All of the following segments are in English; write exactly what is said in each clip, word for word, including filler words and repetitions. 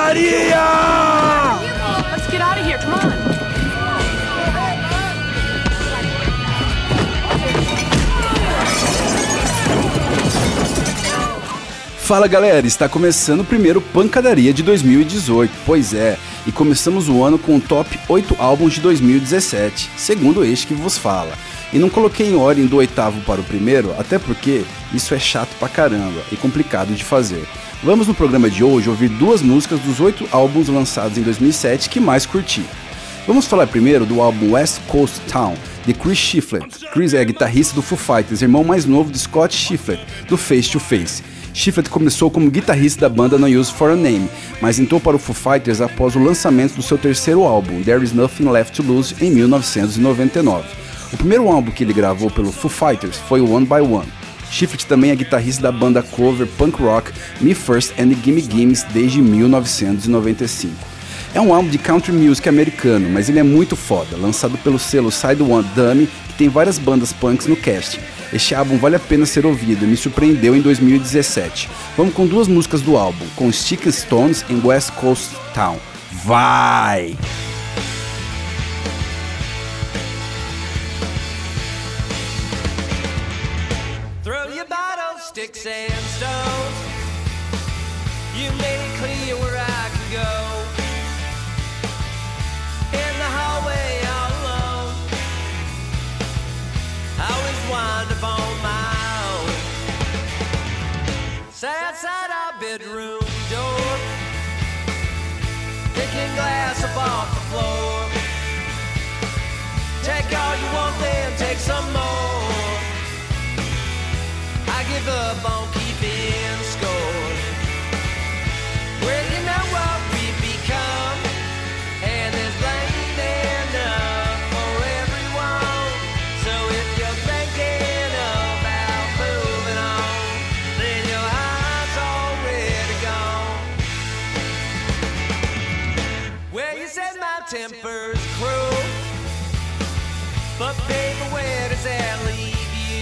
Pancadaria! Let's get out of here, come on. Fala galera, está começando o primeiro Pancadaria de dois mil e dezoito, pois é, e começamos o ano com o top oito álbuns de dois mil e dezessete, segundo este que vos fala. E não coloquei em ordem do oitavo para o primeiro, até porque isso é chato pra caramba e complicado de fazer. Vamos no programa de hoje ouvir duas músicas dos oito álbuns lançados em dois mil e sete que mais curti. Vamos falar primeiro do álbum West Coast Town, de Chris Shiflett. Chris é guitarrista do Foo Fighters, irmão mais novo de Scott Shiflett, do Face to Face. Shiflett começou como guitarrista da banda No Use for a Name, mas entrou para o Foo Fighters após o lançamento do seu terceiro álbum, There Is Nothing Left to Lose, em mil novecentos e noventa e nove. O primeiro álbum que ele gravou pelo Foo Fighters foi o One by One. Shiflett também é guitarrista da banda cover punk rock Me First and Gimme Gimmes desde mil novecentos e noventa e cinco. É um álbum de country music americano, mas ele é muito foda, lançado pelo selo Side One Dummy, que tem várias bandas punks no casting. Este álbum vale a pena ser ouvido e me surpreendeu em dois mil e dezessete. Vamos com duas músicas do álbum, com Stickin' Stones em West Coast Town. Vai! Throw your bottles, sticks and stones. You made it clear where I can go. In the hallway all alone, I always wind up on my own. Sat outside our bedroom door, picking glass up off the floor. Take all you want, then take some more. I give up on keeping score. Well, you know what we've become, and there's blame enough for everyone. So if you're thinking about moving on, then your heart's already gone. Well, you said my temper's cruel, but baby, where does that leave you?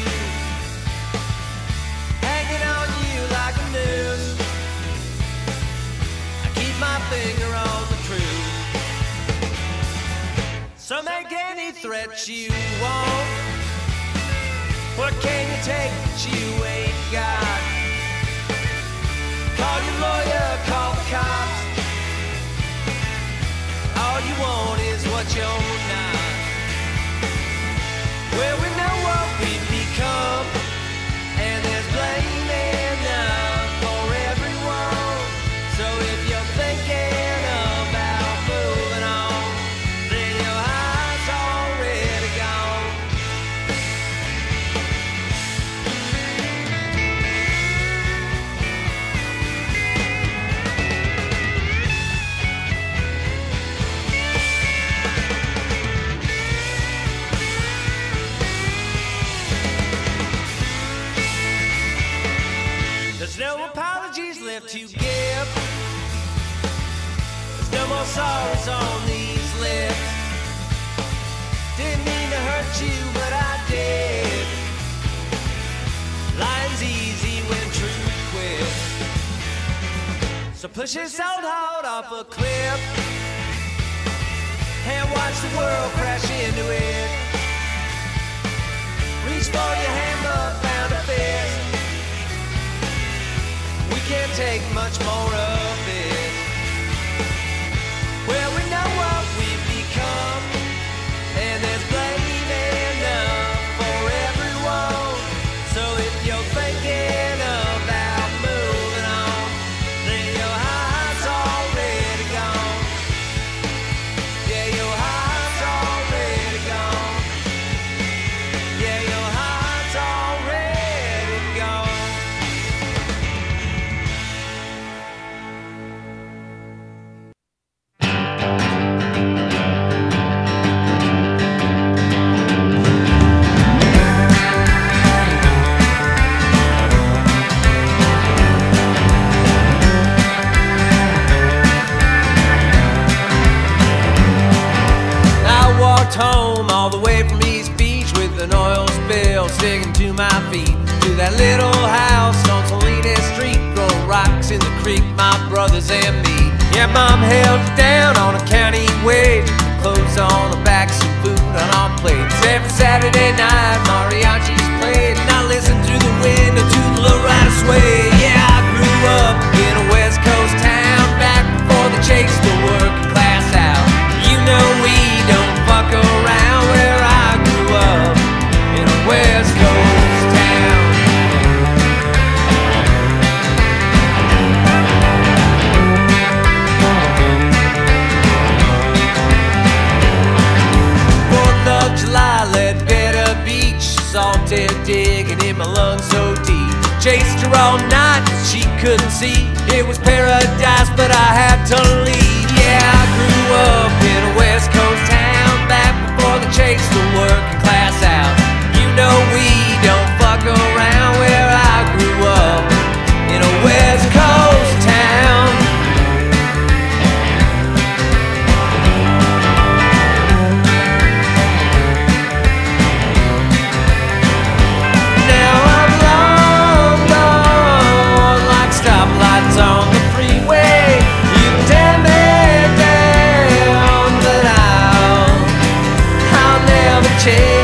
Hanging on you like a noose. I keep my finger on the truth. So make any threat you want. What can you take that you ain't got? Call your lawyer, call the cops. All you want is what you're not. Well, we know what we've become, and there's blame enough for everyone. So if you're thinking about moving on, then your heart's already gone. There's no apologies left to give. There's no more sorrows on these lips. Didn't mean to hurt you, but I did. Lying's easy when truth quits. So push this old heart off a cliff and watch the world crash into it. Reach for your hand, but found a fist. We can't take much more of it. Well, we know what we've become, and there's blame enough for everyone. So if you're thinking about moving on, then your heart's already gone. Yeah, your heart's already gone. Yeah, your heart's already gone. Home all the way from East Beach with an oil spill sticking to my feet, to that little house on Salinas Street, throwing rocks in the creek, my brothers and me. Yeah, Mom held us down on a county wage, clothes on our backs and food on our plates. Every Saturday night, mariachis played, and I listened through the window to the lowrider sway. Yeah, I grew up in a West Coast town, back before they chased the working class out. You know we don't fuck around where I grew up, in a West Coast town. Fourth of July, Ledbetter Beach, salted digging in my lungs so deep. Chased her all night, she couldn't see. It was paradise, but I had to leave. Yeah, I grew up in a West Coast town, back before they chased the working class out. You know we don't fuck around where I grew up, in a West Coast town. Now I'm long gone, like stoplights on the freeway. You can tear me down, but I'll, I'll never change.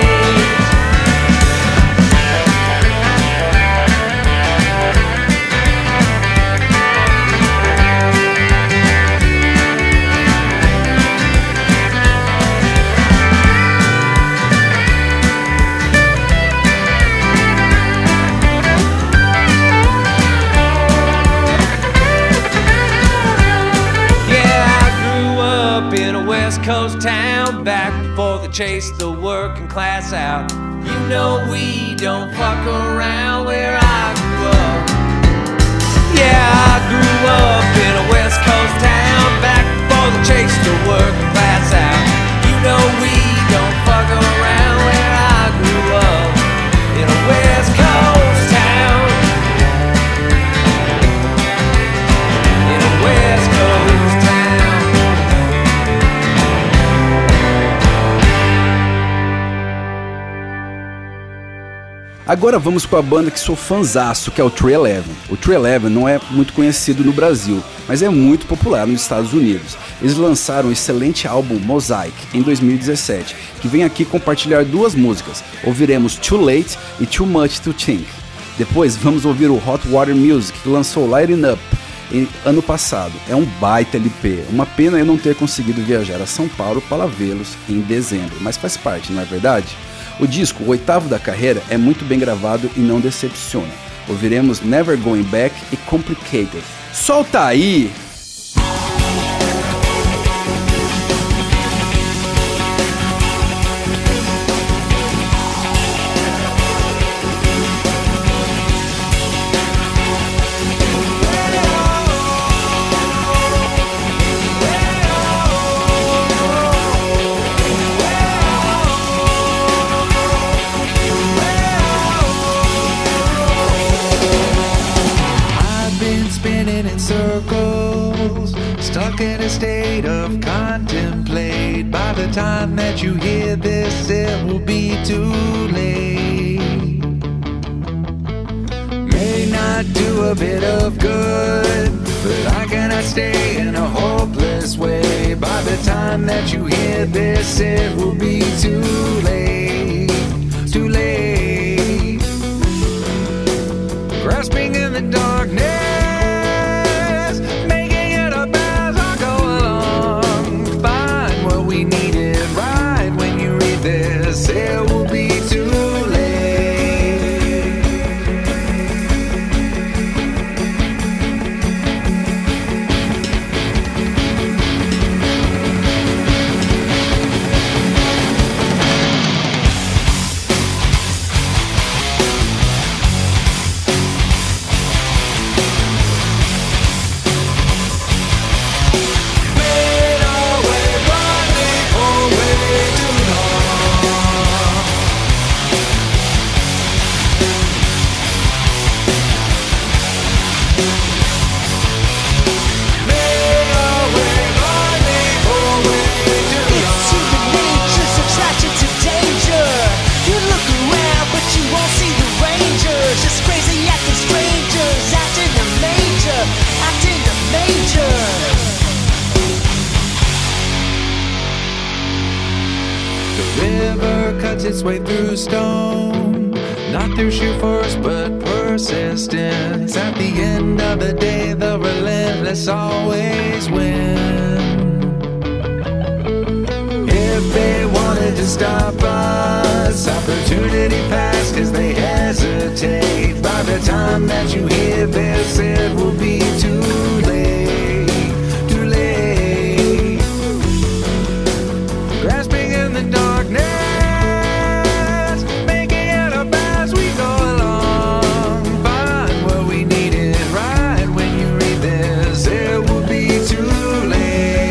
Yeah, I grew up in a West Coast town, back before they chased the working class out. You know we don't fuck around where I grew up. Yeah, I grew up in a West Coast town, back before they chased the working class out. You know we don't fuck around where I grew up, in a West Coast town, in a West Coast town. Agora vamos com a banda que sou fanzaço, que é o três eleven. O três eleven não é muito conhecido no Brasil, mas é muito popular nos Estados Unidos. Eles lançaram o excelente álbum Mosaic em dois mil e dezessete, que vem aqui compartilhar duas músicas. Ouviremos Too Late e Too Much to Think. Depois vamos ouvir o Hot Water Music, que lançou Lighting Up em, ano passado. É um baita L P. Uma pena eu não ter conseguido viajar a São Paulo para vê-los em dezembro, mas faz parte, não é verdade? O disco, o oitavo da carreira, é muito bem gravado e não decepciona. Ouviremos Never Going Back e Complicated. Solta aí! Circles, stuck in a state of contemplate. By the time that you hear this, it will be too late. May not do a bit of good, but I cannot stay in a hopeless way. By the time that you hear this, it will be too late, too late. Grasping in the darkness, it will be too late. Fade away, running away too long. Just crazy acting strangers, acting a major, acting a major. river cuts its way through stone, not through sheer force but persistence. At the end of the day, the relentless always win. If they wanted to stop us, opportunity passed cause they hesitate. By the time that you hear this, it will be too late, too late. Grasping in the darkness, making it up as we go along. Find what we needed right when you read this, it will be too late.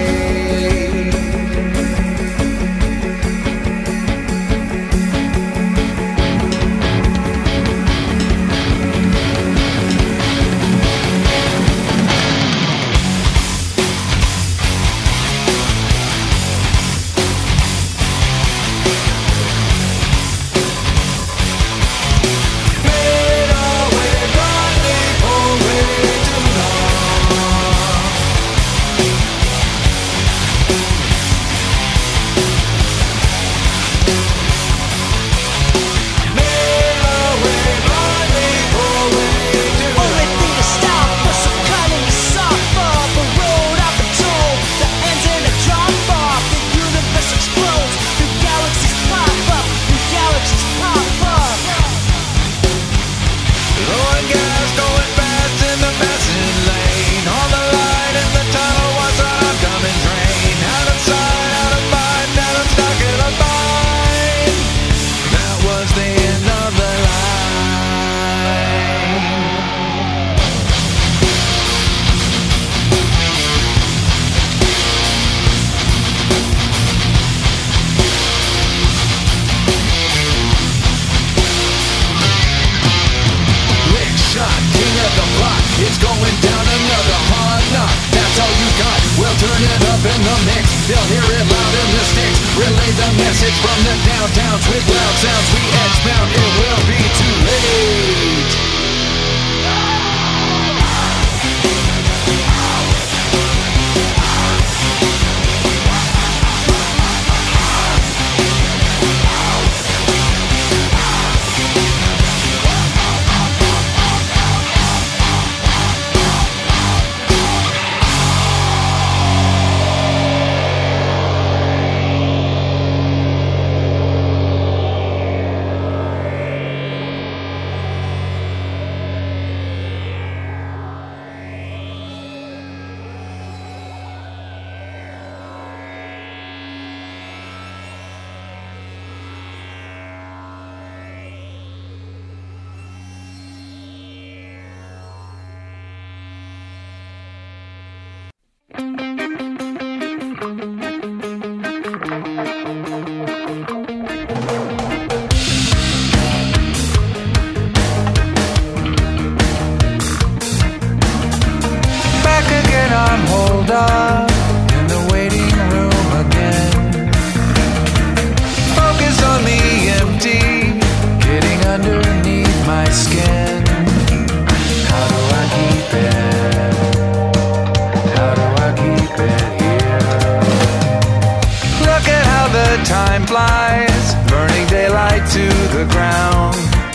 Time flies, burning daylight to the ground.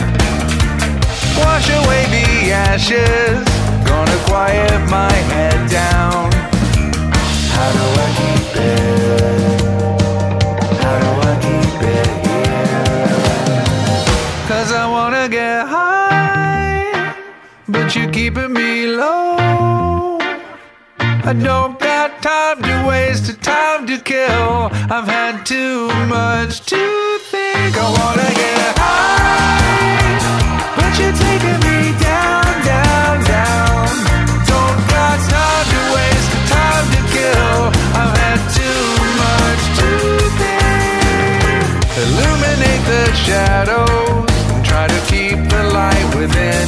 Wash away the ashes, gonna quiet my head down. How do I keep it? How do I keep it here? Cause I wanna get high, but you're keeping me low. I don't got time to waste, time to kill. I've had too much to think. I wanna get high, but you're taking me down, down, down. Don't got time to waste, time to kill. I've had too much to think. Illuminate the shadows and try to keep the light within.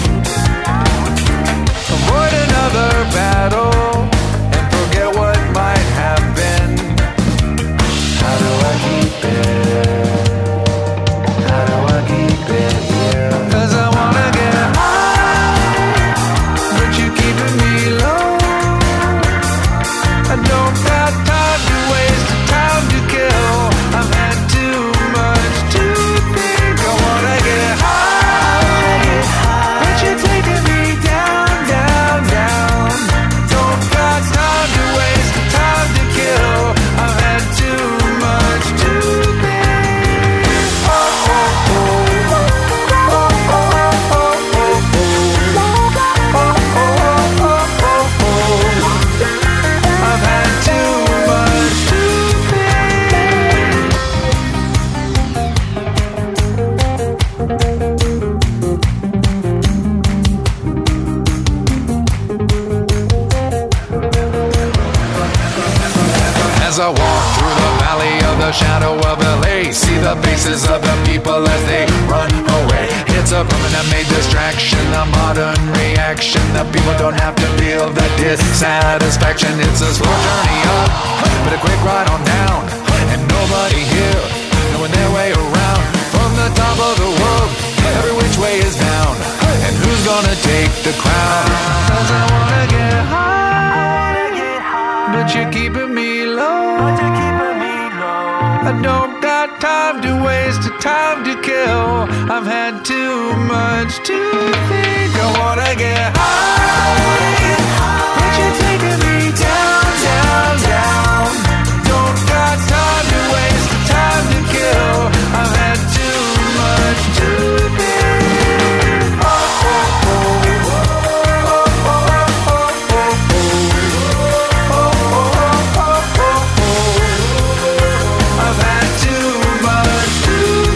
Avoid another battle, forget what might have been. How do I keep it? How do I keep it here? Cause I wanna get high, As I walk through the valley of the shadow of L A, see the faces of the people as they run away. It's a permanent made distraction, a modern reaction. The people don't have to feel the dissatisfaction. It's a slow journey up, but a quick ride on down. And nobody here knowing their way around. From the top of the world, every which way is down. And who's gonna take the crown? 'Cause I wanna get high, but you're keeping me low. I don't got time to waste, time to kill. I've had too much to think. I wanna get high, but you're taking me down, down, down. Don't got time to waste, time to kill. I've had too much to think. Oh, oh, oh, oh, oh, oh, oh, oh, oh, oh, oh, oh. I've had too much to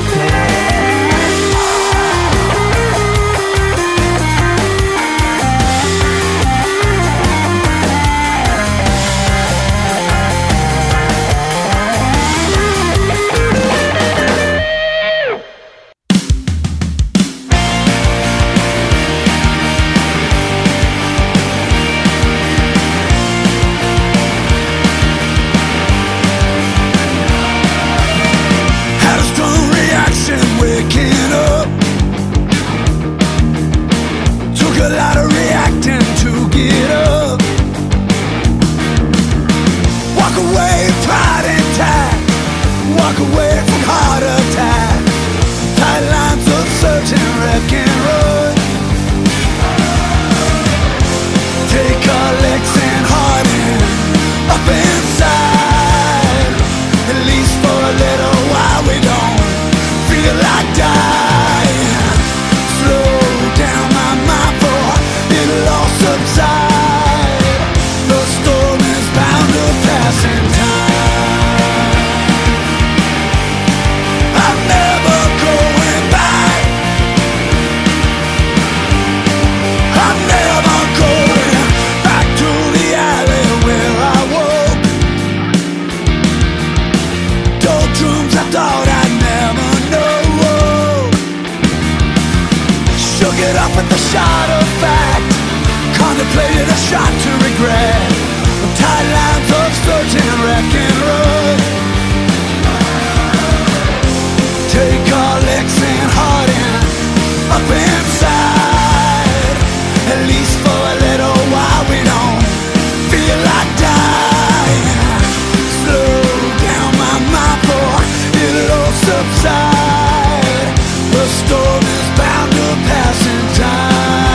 Had a strong reaction waking up. Took a lot of reacting to get up. Walk away, pride intact. Walk away from heart attack. Tight lines of searching, wreck and run. Take our legs and heart in, up inside. At least for a little while we don't feel like dying. Slow down my mind for it'll all subside. The storm is bound to pass in time. I'm never going back. I'm never going back to the alley where I walk. Doldrums I thought I'd never know. Shook it up at the shot of fact. Contemplated a shot to regret. Tight lines of searching, wreck and run. Take our legs and heart in, up inside. At least for a little while we don't feel like dying. Slow down my mind for it'll all subside. The storm is bound to pass in time.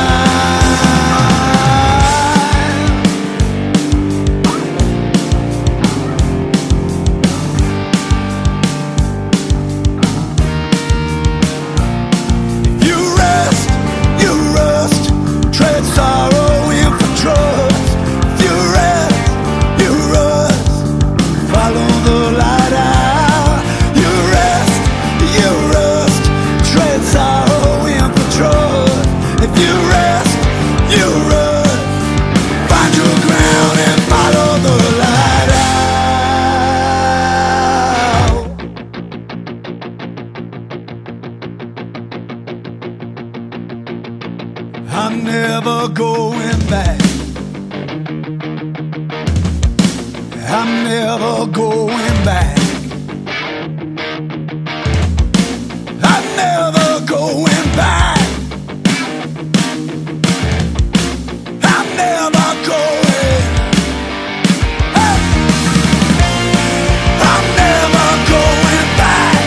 You rest, you rust, tread sorrow in for trust. You rest, you rust, follow the light out. You rest, you rust, tread sorrow in for trust. If you rest, you rust, find your ground and follow the light out. I'm never going back. I'm never going back. I'm never going back. I'm never going. Hey! I'm never going back.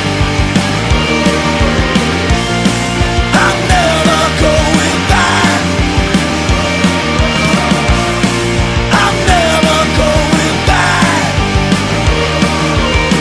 I'm never going back. I'm never going back.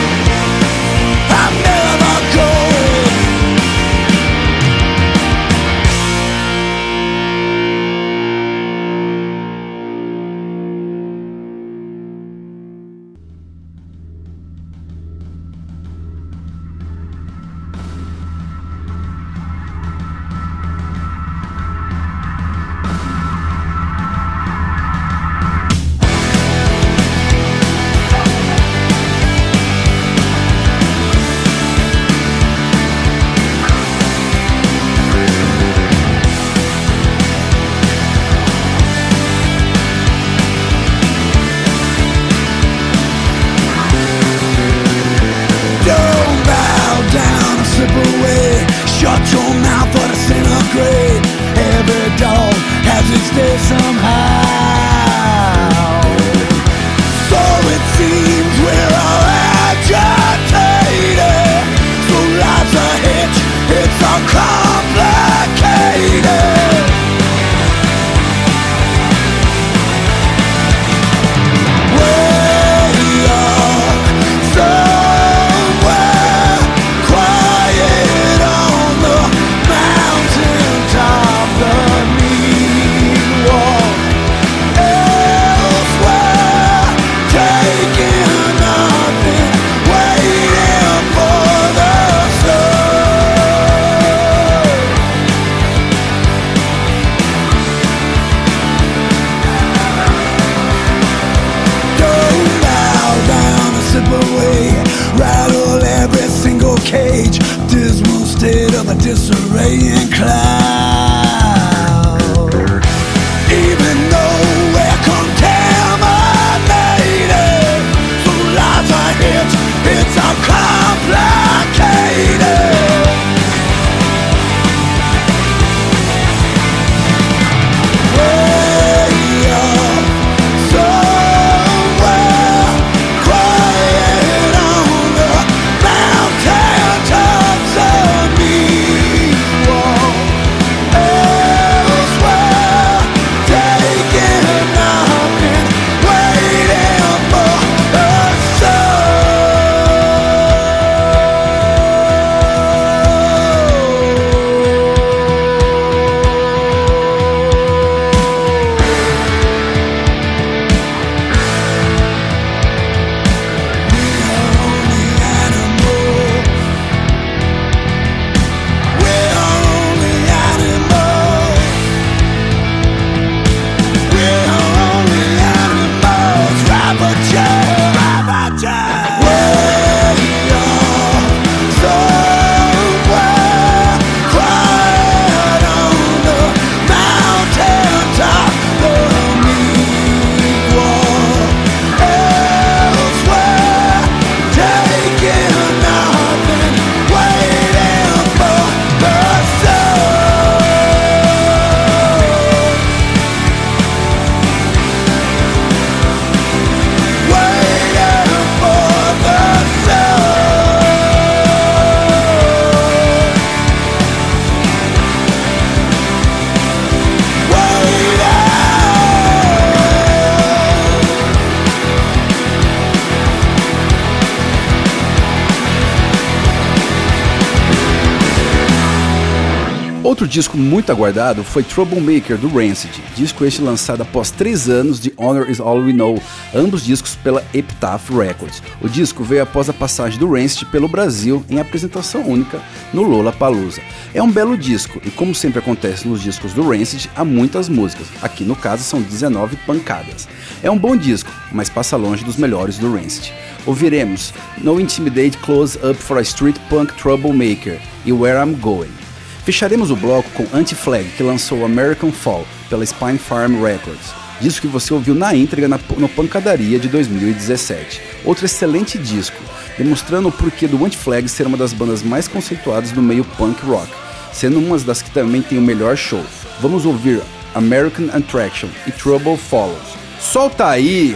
Outro disco muito aguardado foi Troublemaker, do Rancid, disco este lançado após três anos de Honor Is All We Know, ambos discos pela Epitaph Records. O disco veio após a passagem do Rancid pelo Brasil em apresentação única no Lollapalooza. É um belo disco e, como sempre acontece nos discos do Rancid, há muitas músicas, aqui no caso são dezenove pancadas. É um bom disco, mas passa longe dos melhores do Rancid. Ouviremos No Intimidate Close Up for a Street Punk Troublemaker e Where I'm Going. Fecharemos o bloco com Anti-Flag, que lançou American Fall pela Spine Farm Records, disco que você ouviu na íntegra na, no Pancadaria de dois mil e dezessete. Outro excelente disco, demonstrando o porquê do Anti-Flag ser uma das bandas mais conceituadas do meio punk rock, sendo uma das que também tem o melhor show. Vamos ouvir American Attraction e Trouble Follows. Solta aí!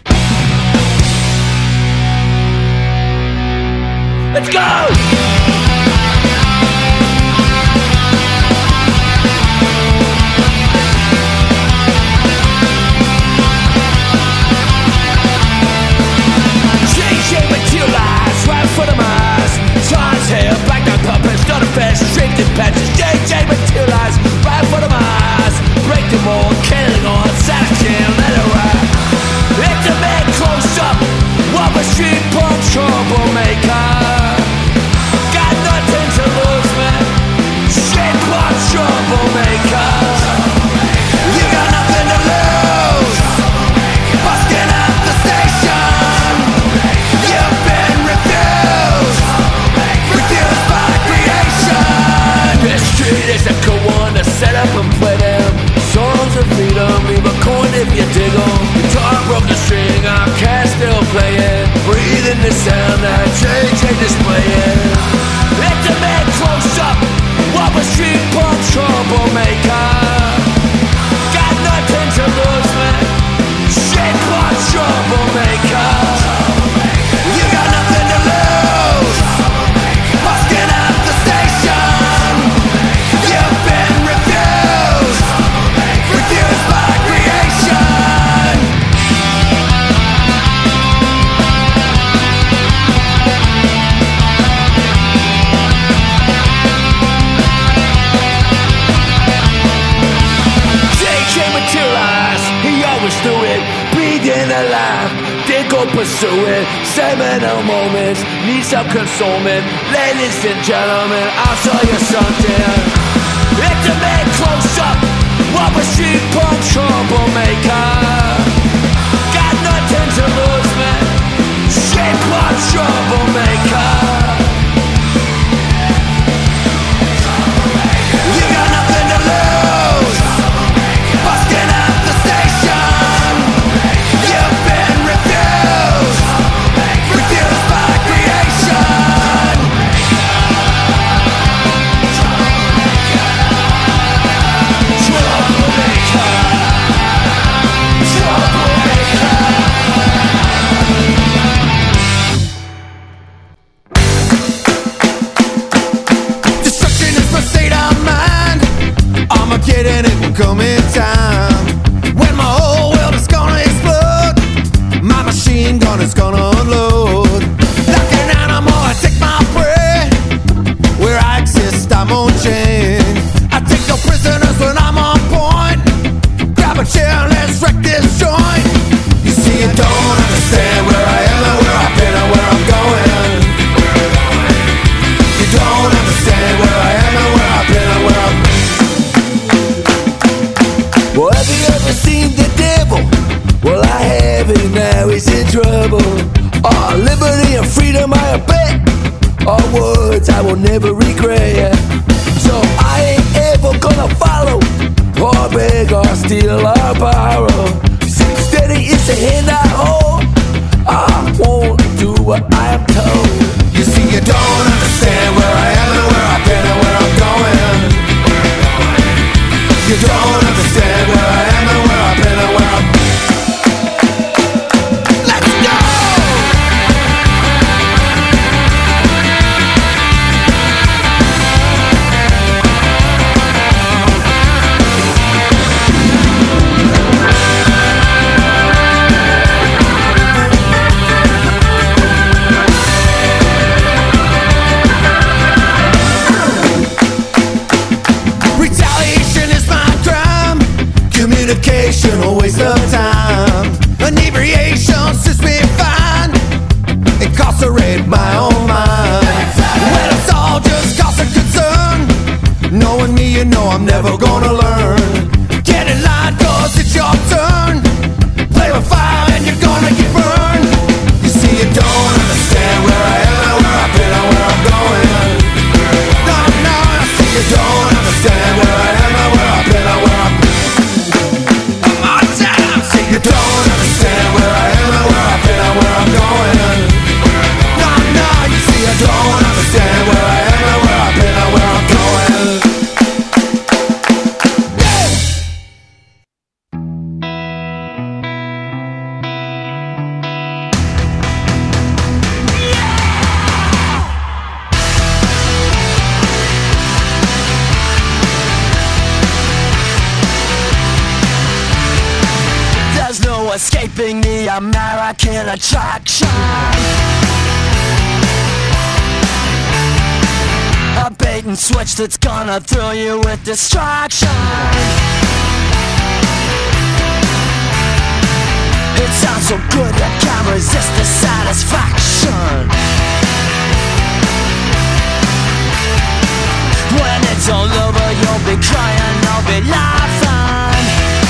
Let's go! For the miles, Charles hair, black dog puppets, not a fast, shaped in patches, J J materialize, right for the miles, break the mold, killing on, satisfaction, let it ride. It's a man close up, what a street punk troublemaker. Got nothing to lose, man, street punk troublemaker. You got nothing to lose, busting up the station. You've been this street is a cool one to set up and play them songs of freedom, leave a coin if you dig them. Guitar broke the string, our cat still playing. Breathe in the sound that J J displaying. Let the man close up, what a street punk troublemaker. Got nothing to lose, man, street punk troublemaker. You got nothing to lose, busting up the station. You've been refused, refused by creation. J J materialized, he always do it, breathing alive. Did go pursue it, seminal moments, need some consolement. Ladies and gentlemen, I'll show you something. It's a man close up, what a street punk troublemaker. Got nothing to lose, man, street punk troublemaker. You got nothing to lose, busting up the station. You've been refused, refused by creation. Destruction is my state of mind. Armageddon, it will come in time. When my whole world is gonna explode, my machine gun is gonna unload. Like an animal, I take my prey. Where I exist, I'm on chain. I take no prisoners when I'm on point. Grab a chair and let's wreck this joint. You see, you don't understand where I am and where I've been and where I'm going. You don't understand where I am and where I've been and where I'm. Well, have you ever seen the devil? Well, I have, and now he's in trouble. Oh, liberty and freedom I bet are words I will never regret. So I ain't ever gonna follow or beg or steal or borrow. See, steady is the hand I hold. I won't do what I am told. You see, you don't understand where I am and where I've been and where I'm going. You don't understand where I am and where I've been and where I'm. Let's go! waste of time. Inebriation sits me fine, incarcerate my own mind. When it's all just cause of concern, knowing me, you know I'm never gonna learn. Get in line cause it's your turn. Play with fire and you're gonna get burned. You see, you don't understand where I am and where I've been and where I'm going. No, no, I see you don't understand where I am and where I've been and where I'm going. One more time. See, you don't understand where I am and where I've been and where I'm going. No, no, you see, you don't understand where I am and where I've been and where I'm going. There's no escaping the American attraction. A bait and switch that's gonna thrill you with distraction. It sounds so good you can't resist the satisfaction. When it's all over you'll be crying, I'll be laughing.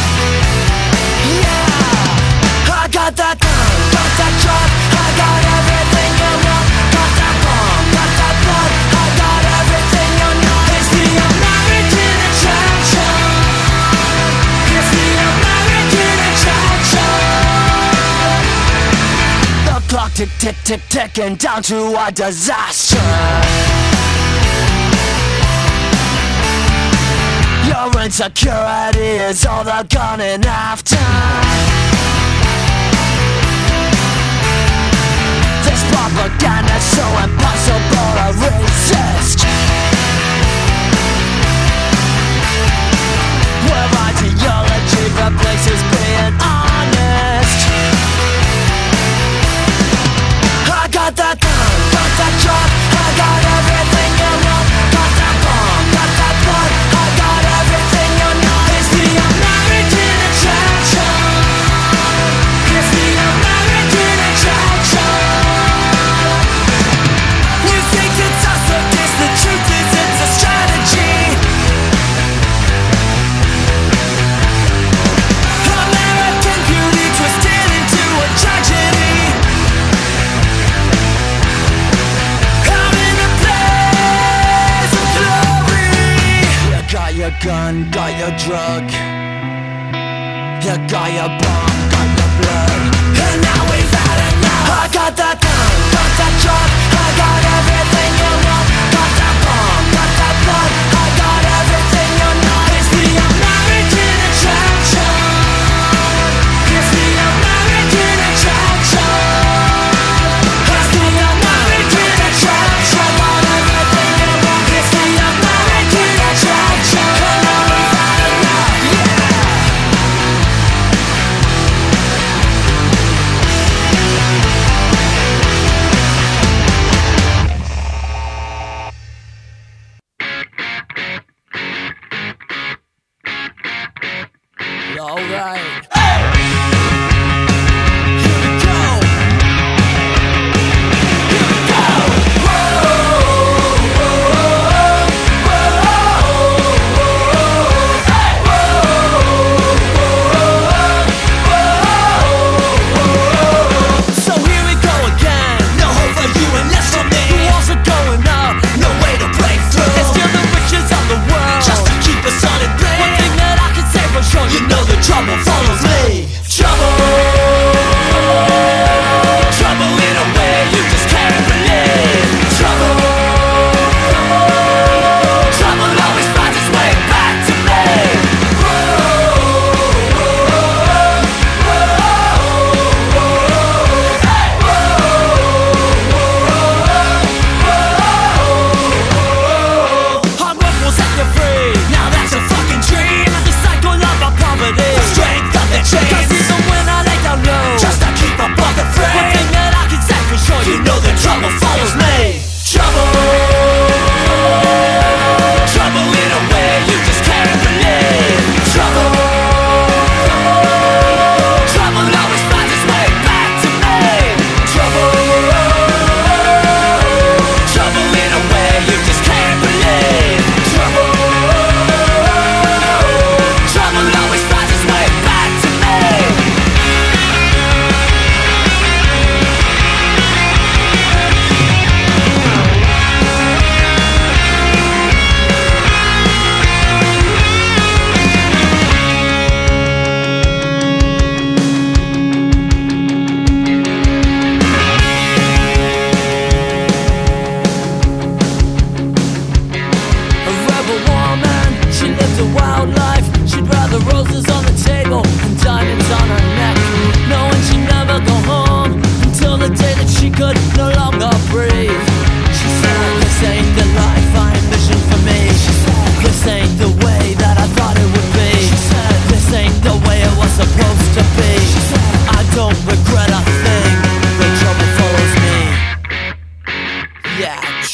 Yeah, I got that gun, got that truck, I got everything you want. Got that bomb, got that blood, I got everything you know. It's the American attraction. It's the American attraction. The clock tick tick tick ticking down to a disaster. Your insecurity is all they're gunning after. This propaganda's so impossible to resist. Where ideology replaces being honest. I got that gun, got that truck, I got everything you want. Got that bomb, got that blood, I got everything you know. It's the American attraction. It's the American attraction. You think it's us, but this the truth is it's a strategy. American beauty twisted into a tragedy. I'm in a place of glory. You got your gun, got your drug. You got your bomb, got your blood. And now we've had enough. I got that gun, got that truck, I got everything you want. Got that bomb, got that blood, I got everything you know. It's the American attraction. It's the American attraction. It's the American attraction. I got everything you want. It's the American attraction. And now we've had enough. Yeah.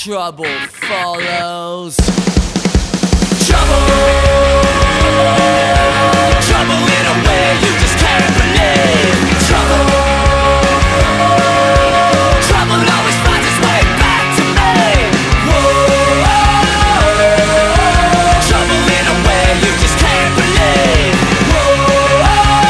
trouble follows. Trouble, trouble in a way you just can't believe. Trouble, trouble always finds its way back to me. Whoa, trouble in a way you just can't believe. Whoa,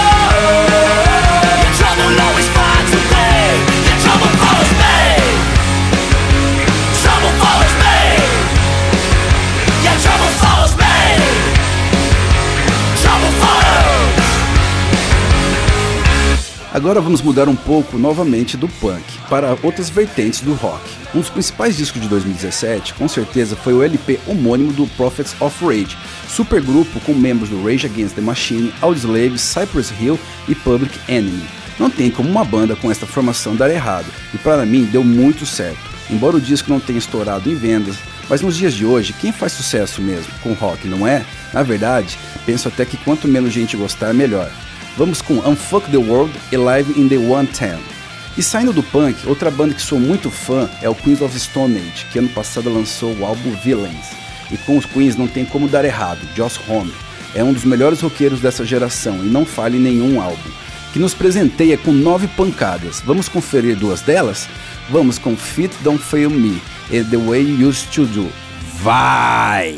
your trouble always finds a way. Your trouble follows me. Trouble follows me. Your trouble follows me. Trouble follows. Agora vamos mudar um pouco novamente do punk para outras vertentes do rock. Um dos principais discos de dois mil e dezessete, com certeza, foi o L P homônimo do Prophets of Rage, supergrupo com membros do Rage Against the Machine, Audioslave, Cypress Hill e Public Enemy. Não tem como uma banda com esta formação dar errado, e para mim deu muito certo. Embora o disco não tenha estourado em vendas, mas nos dias de hoje, quem faz sucesso mesmo com rock, não é? Na verdade, penso até que quanto menos gente gostar, melhor. Vamos com Unfuck the World e Live in the one ten. E saindo do punk, outra banda que sou muito fã é o Queens of Stone Age, que ano passado lançou o álbum Villains. E com os Queens não tem como dar errado, Josh Homme é um dos melhores roqueiros dessa geração e não falha em nenhum álbum, que nos presenteia com nove pancadas. Vamos conferir duas delas? Vamos com Fit Don't Fail Me e The Way You Used to Do. Vai!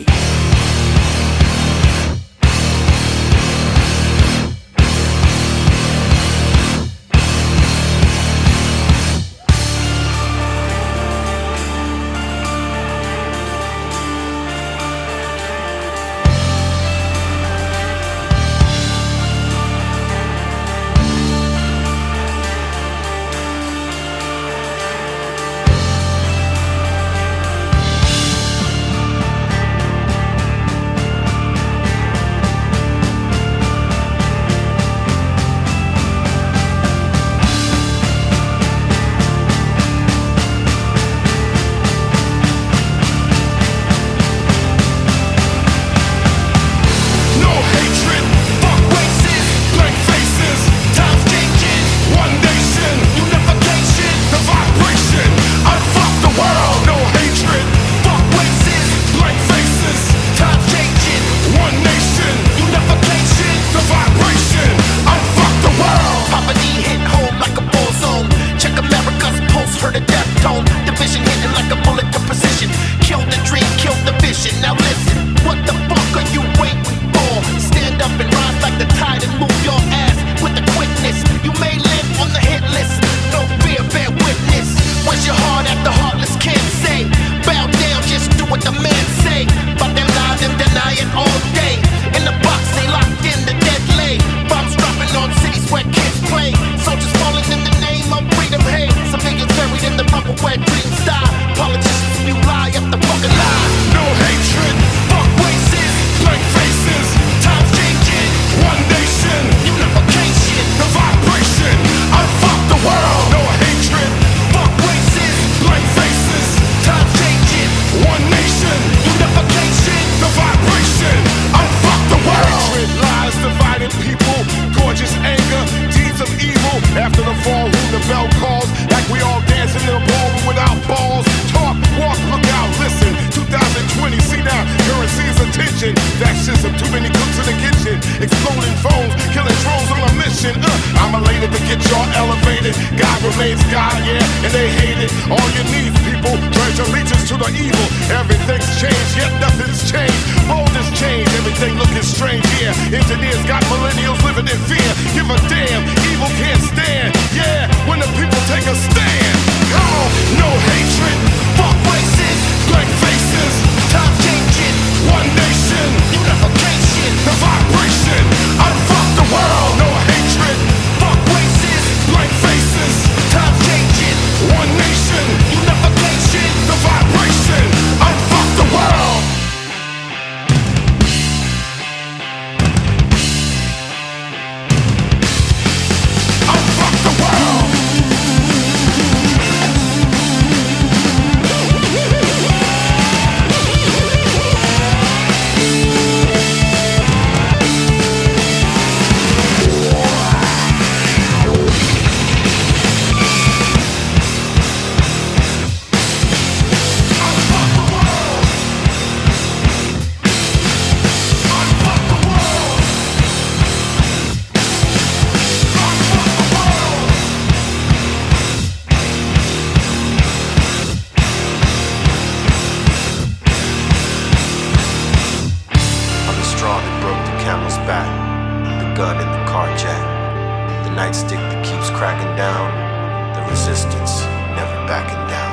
music that keeps cracking down, the resistance never backing down.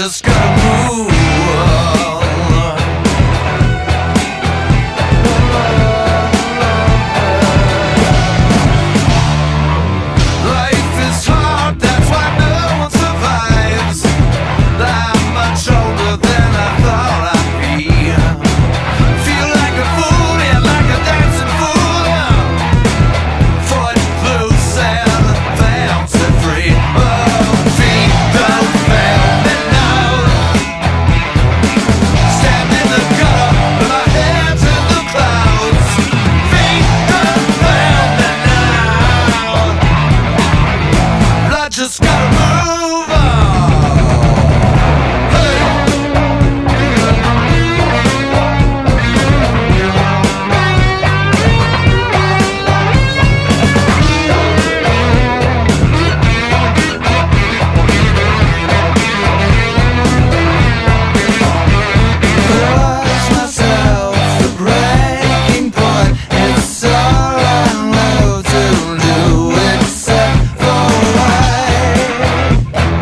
just gotta move. Life is hard, that's why no one survives. I'm much older than I thought I'd be. Feel like a fool, yeah, like a dancing fool. Foot loose and bouncing free. Oh, feet don't fail me now. Stand in the gutter with my hands in the clouds. Feet don't fail me now. I just gotta move on. Push myself the breaking point. It's all I know to do except for wait.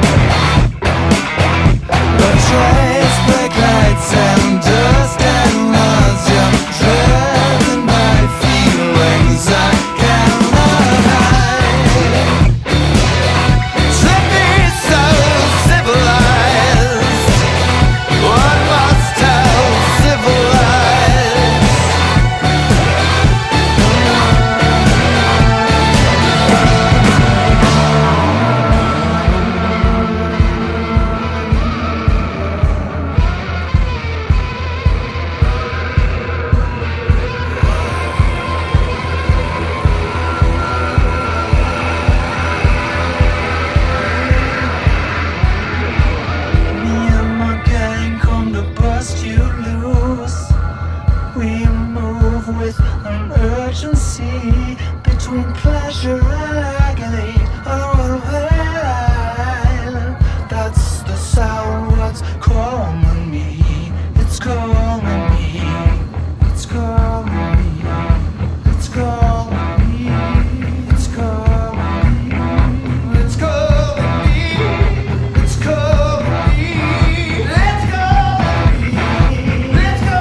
But trace brake lights and dust and nausea, driven by feelings I cannot hide. Slippy so civilized. One must tell civilized. Me and my gang come to bust you loose. We move with an urgency between pleasure and agony. Oh, well, that's the sound what's calling me. It's calling me. It's calling me. It's calling me. It's calling me. It's calling me. It's calling me. Let's go. Let's go.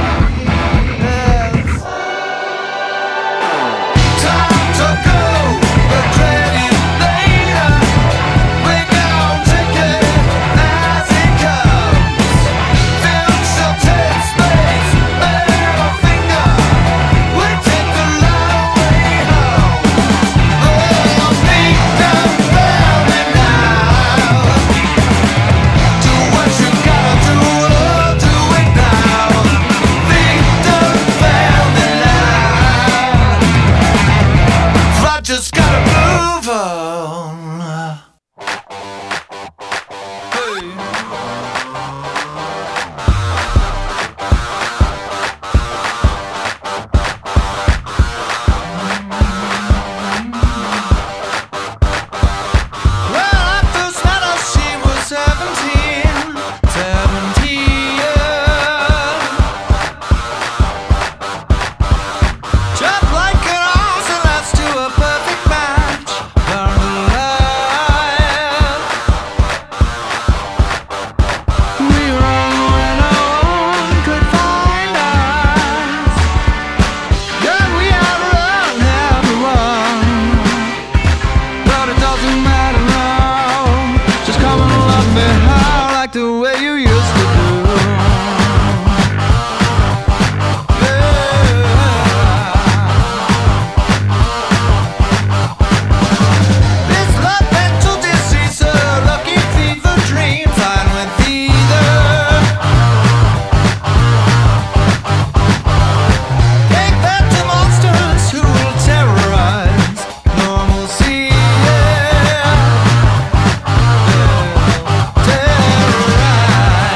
Time to go, but credit later. We're gonna take it as it comes. Film shall take space, middle finger. We take the long way home. Oh, feet down, found it now. Do what you gotta do, oh, do it now. Feet down, found it now. I just gotta move on. Hey. Well, I first met her, she was seventeen. Seventeen. Just like an ounce, and that's to a perfect match. Burn alive. We run when no one could find us. Yeah, we outrun everyone. But it doesn't matter now. Just come and love me how, like the way you used to do. This love mental disease, a lucky fever dream, fine with either. Take that to monsters who will terrorize normalcy. Yeah. Terrorize.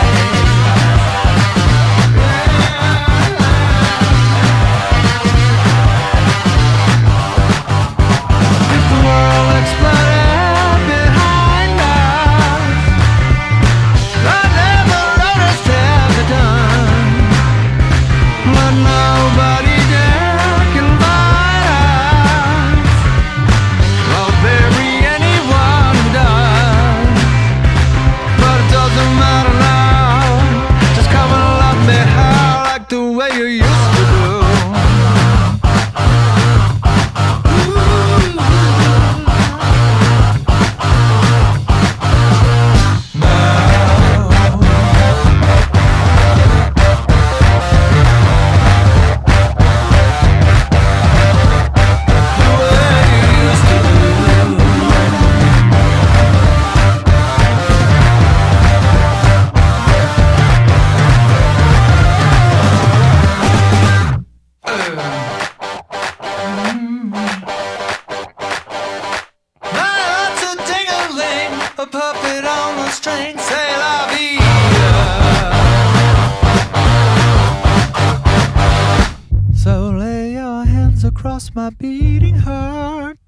lost my beating heart.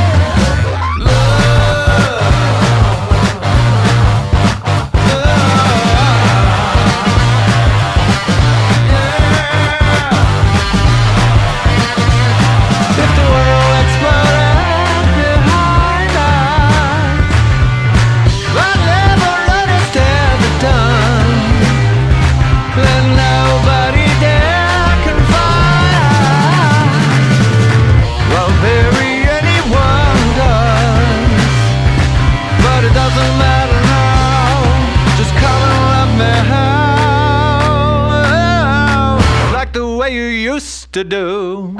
To do.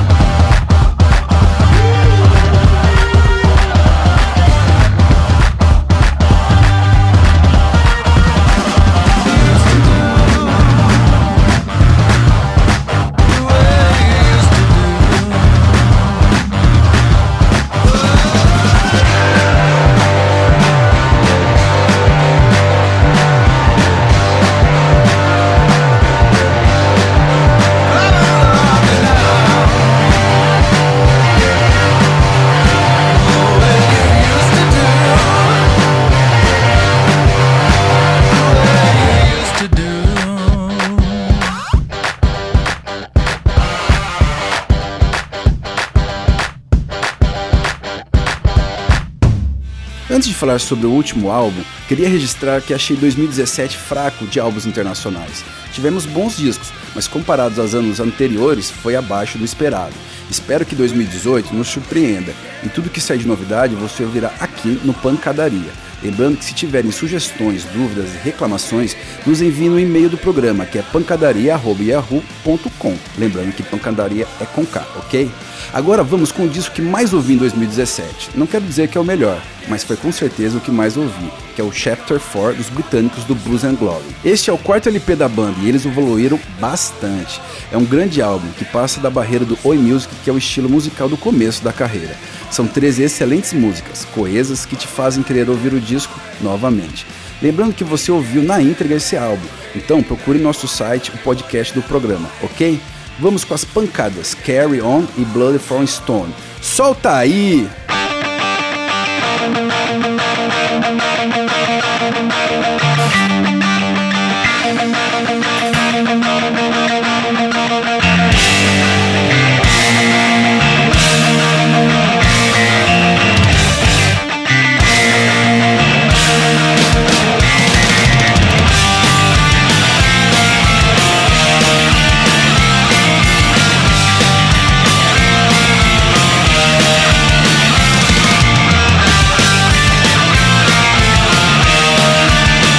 Antes de falar sobre o último álbum, queria registrar que achei dois mil e dezessete fraco de álbuns internacionais. Tivemos bons discos, mas comparados aos anos anteriores, foi abaixo do esperado. Espero que dois mil e dezoito nos surpreenda, e tudo que sair de novidade você ouvirá aqui no Pancadaria. Lembrando que se tiverem sugestões, dúvidas e reclamações, nos enviem no e-mail do programa, que é pancadaria arroba yahoo ponto com. Lembrando que pancadaria é com K, ok? Agora vamos com o disco que mais ouvi em dois mil e dezessete. Não quero dizer que é o melhor, mas foi com certeza o que mais ouvi, que é o Chapter quatro dos britânicos do Blues and Glory. Este é o quarto L P da banda e eles evoluíram bastante. É um grande álbum que passa da barreira do Oi Music, que é o estilo musical do começo da carreira. São treze excelentes músicas, coesas, que te fazem querer ouvir o disco novamente. Lembrando que você ouviu na íntegra esse álbum, então procure em nosso site o podcast do programa, ok? Vamos com as pancadas Carry On e Blood from Stone. Solta aí! We'll be right back.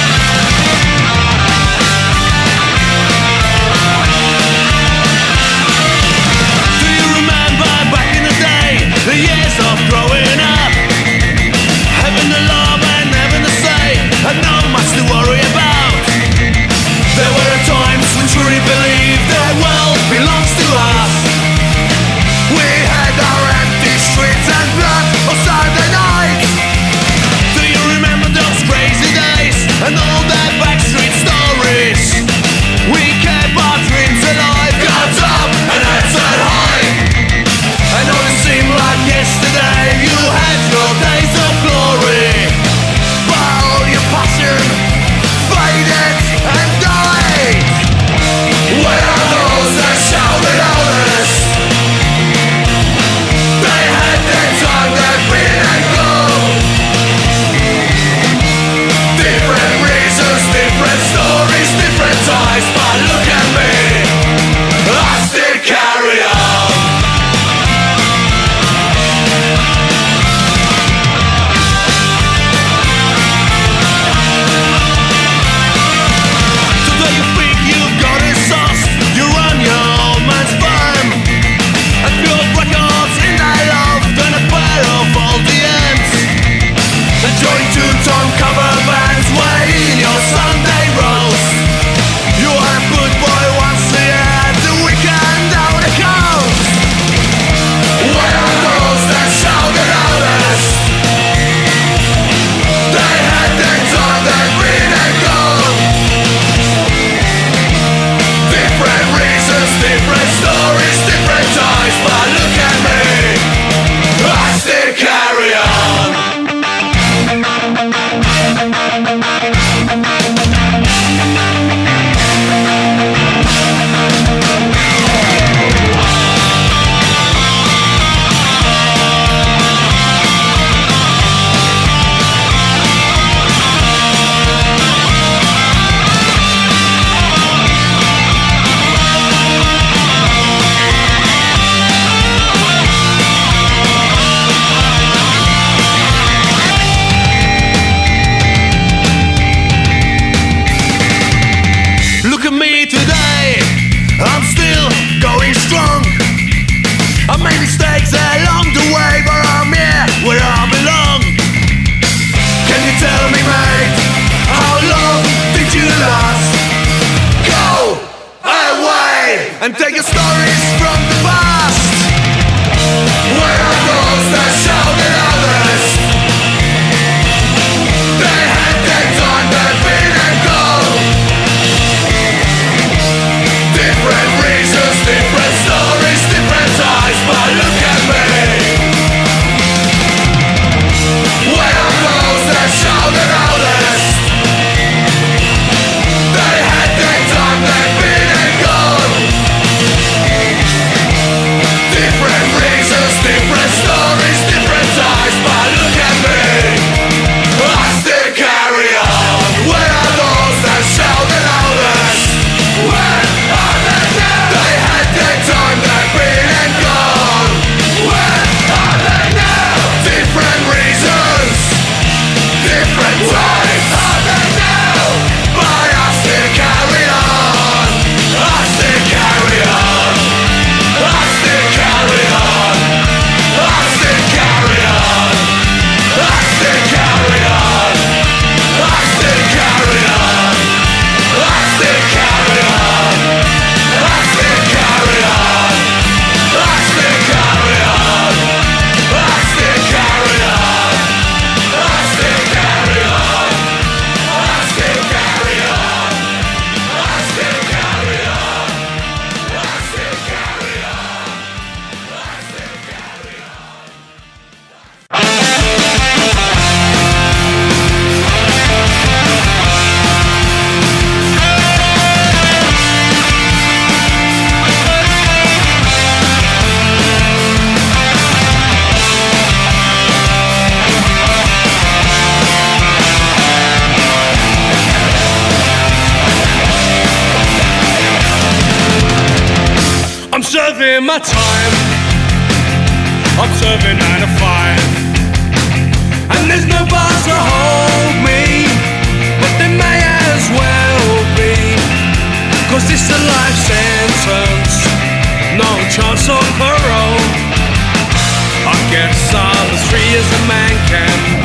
and taking stories from the past. Where are those that shouted others? They had their time, they've been and gone. Different reasons, different stories, different eyes, but look at me. Where are those that shouted others? They had their time, they've been and gone. Different reasons, different stories, different eyes, but look at me. I still carry on. Where are those that shouted others? Where are they now? They had their time, they've been and gone. Where are they now? Different reasons, different times. Where are they now? But I still carry on. I still carry on. I still carry on. I still carry on. I still carry on. I still carry on. I still carry on. I still carry on. I still carry on. I still carry on. I still carry on. I still carry on. I still carry on. I still carry on. I still carry on. I'm serving my time. I'm serving nine to five, and there's no bars to hold me, but there may as well be, 'cause it's a life sentence, no chance on parole. I guess I'll as free as a man can